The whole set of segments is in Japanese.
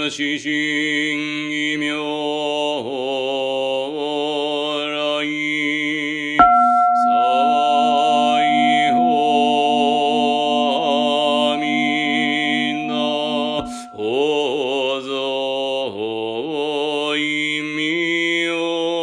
死神異名来西方阿弥陀法蔵意味よ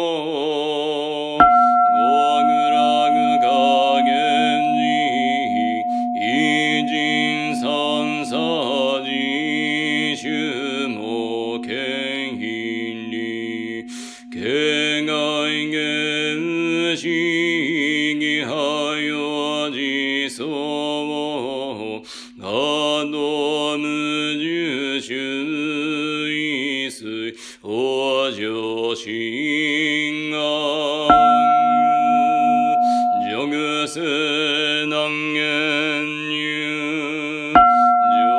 極楽華厳寺異人三叉寺衆も権威に境外現死義派よ自相我道無住主意水往生心願上世難言入浄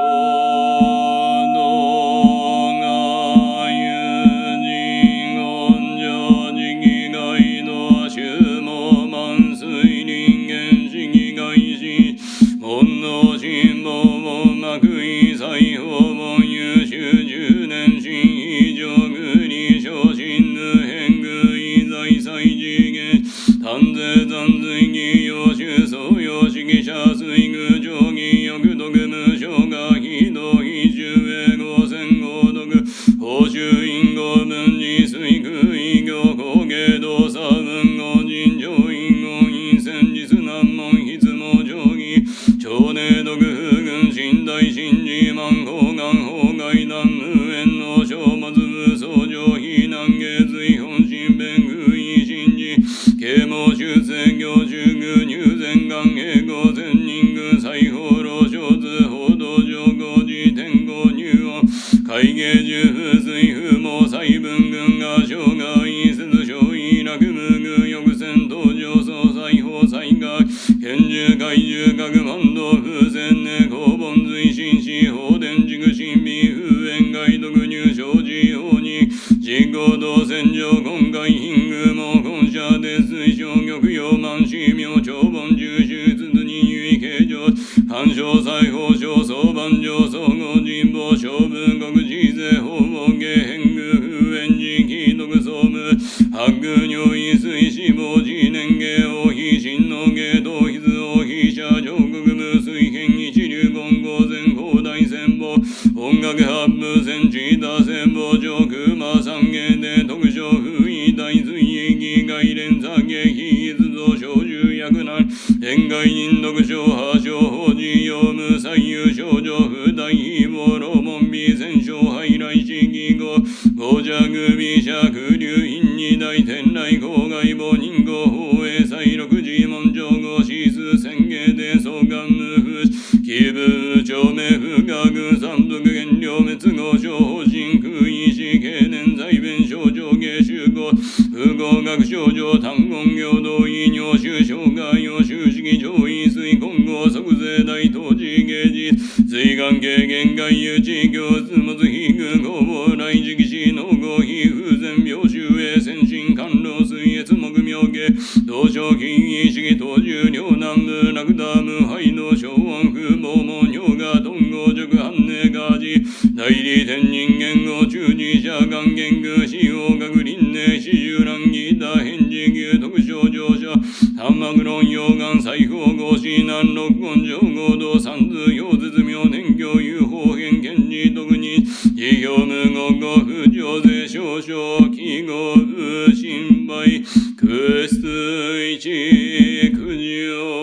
土が有人恩上自義外道衆も万水人間主義外心門の心門幕意裁縫門優秀十年心非上具に昇進無変具意在祭次元丹税残随義要修相要主義者水具上義欲毒無償が非道非中英語戦合毒報酬因果分離水具異業工芸動作文語人上因語因戦実難問筆網定義超寧毒不軍寝台神事万法願法外談無縁の書物無相上非難下随本心弁不意神事啓蒙修正行中具入善願英語善人具裁縫老小図報道上合寺天候入音会芸十不水不毛細分群が生涯意節小意楽無具欲戦登場総裁法災害拳銃怪獣各万道風船根公本随心死法伝軸神秘風縁外毒入生寺法人実行道戦場今回貧具も本社で水晶玉葉万死妙長本重手術人唯形状干渉裁縫小相番上総合人望勝負国自税法門下変具風縁時期毒総務白具尿意水死亡時年下王妃真の下頭筆王妃社上国無水変一流言語全広大戦法音楽発布戦地打戦法上空魔三芸で特徴不意大随意義外連座芸非逸造小獣薬難恋外人読書破傷法事用無左右症状不大非暴露門美戦勝敗来市義語五尺美尺流院二大天来公外母人語法営祭六寺門上語指数宣言で総願無不気分長命不学三毒原料滅後小方針空意思経年在弁症状芸集合不合学症状単言行動医尿収障害用収式上位水混合即税大当時芸術水眼軽減外有地行質物非具工房来時期死農合非風前病臭衛先進甘露水越木妙芸同症金意識当重両南部楽ダ無敗の小安風毛門尿が頓合直反寧ガジ代理天人間語中自者願言具使用学輪廻四十乱義打返事牛特徴乗車三幕論溶岩裁縫合子南六根上合道三図表絶妙年教有方変見事特に自表無言語不上税少々記号不心配空室一苦情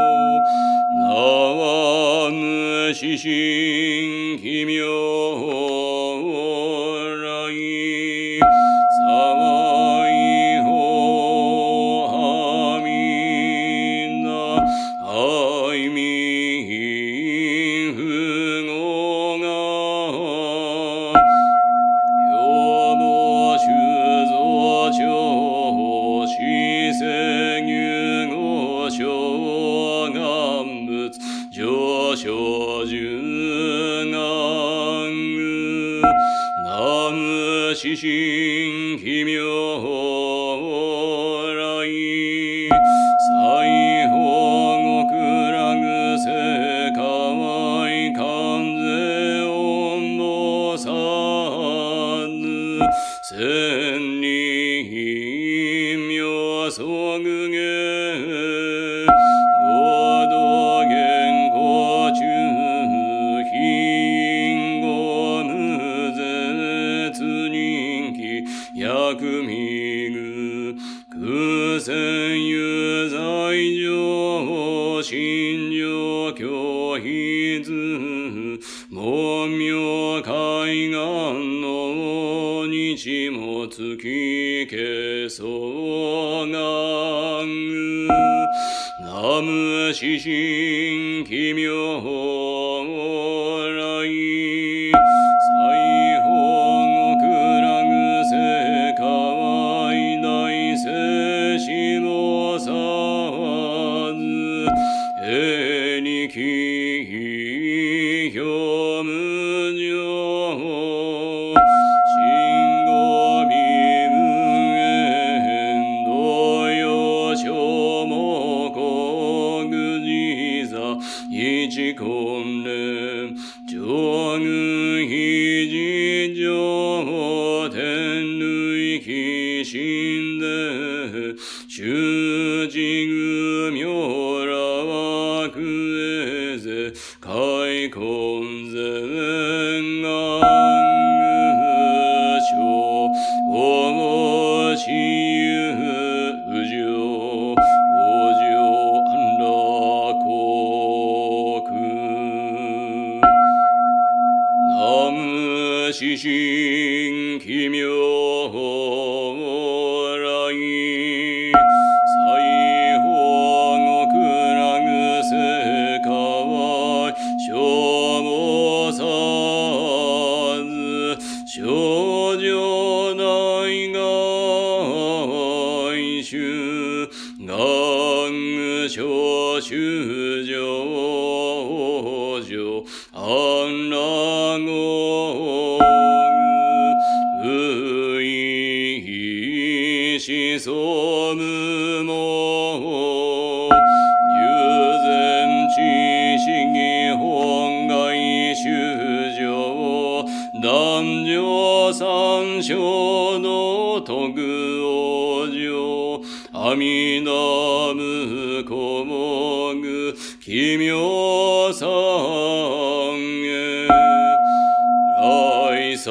縄無死神奇妙来西方阿弥陀愛民不合が予防修造長死世入合小願仏上昇十願具南無死神奇妙来西方極楽世界観世音菩薩千里妙即下合同言語中品語無絶人気薬味具空戦有罪上心上教筆門名海岸の日も月けそがん南無四神奇妙来西方極楽世界大聖子菩薩へにき表無常信号微分縁同様小目国自座一根連上具非自上天類起心で修持具妙楽へぜ開根前願具所おしゆうじょうおじょ安楽国南無四神奇妙来西方極楽世界小菩薩少女大外衆願小衆上上安楽具思想無門有前知識本外修上男女三章の徳往生阿弥陀無古目奇妙三へ来三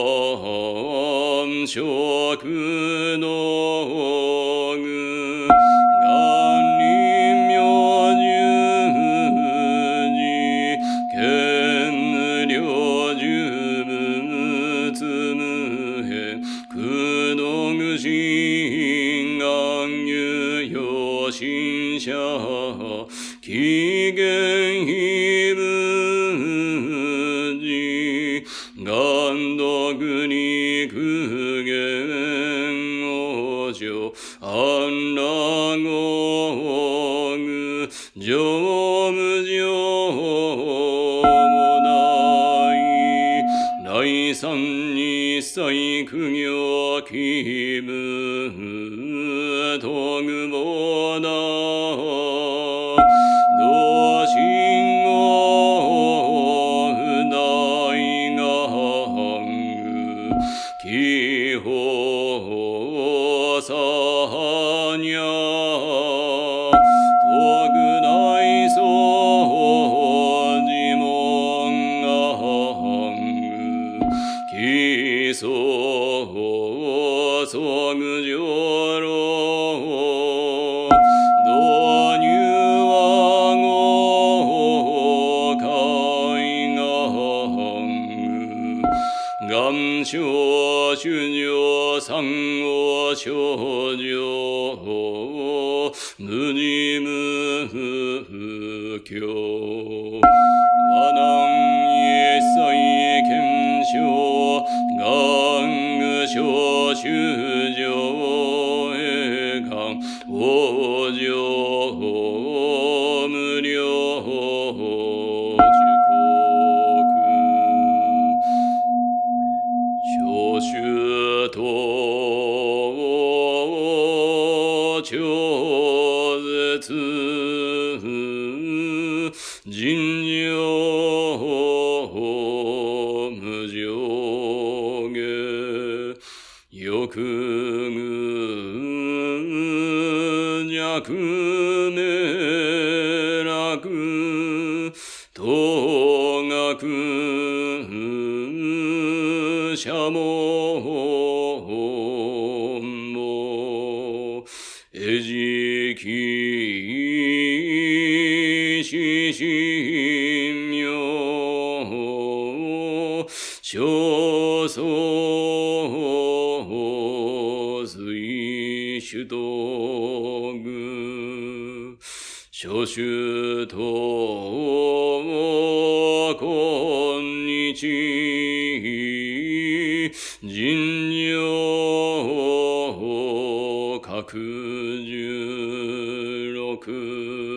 色の具願臨妙十字見無量十仏無辺苦の具心願有用心者起源非仏寺願読に苦言往生安楽具上無常もない来三一切苦行気分とぐぼだ同心を不大願具気法さにゃ特大掃除門願具基礎即上路導入はご海願具願書主上三王少女無事無教和難一切検証願具小主上へ願往生無量小衆と超絶尋常無上下六具弱明楽東学社門も絵次記四神明正宗水主道具諸主と今日人形各十六